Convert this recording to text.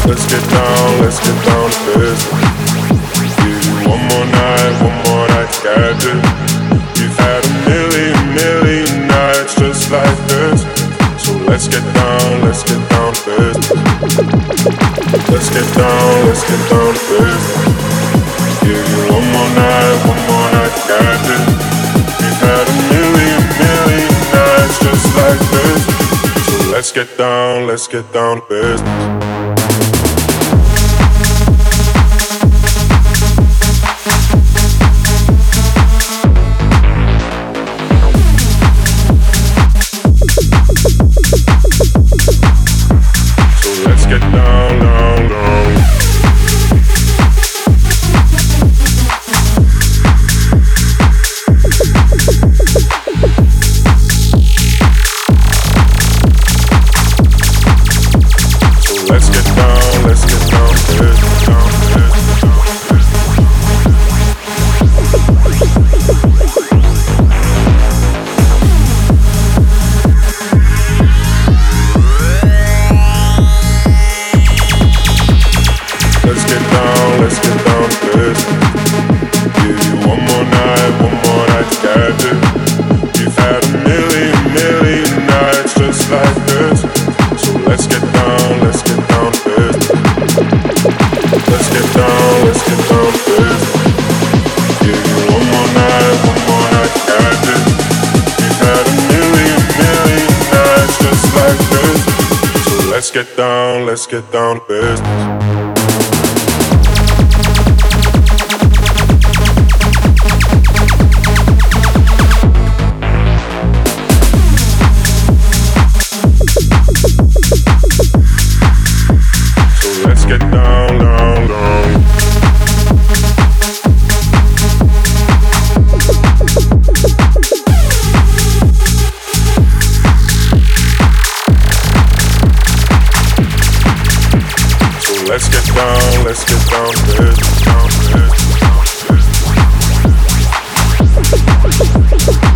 let's get down to business. Give you one more night to catch it. You've had a million nights just like this. So let's get down to business. Let's get down to business. Give you one more night to catch it. You've had a million nights just like this. So let's get down to business. Get down, down, down. So let's get down, let's get down, get down, get down. Let's get down to business. Give you one more night to catch it. You've had a million nights just like this. So let's get down to business. Let's get down to business. Give you one more night to catch it. You've had a million nights just like this. So let's get down to business. Get down, down, down. So let's get down to this, down to this, down to this.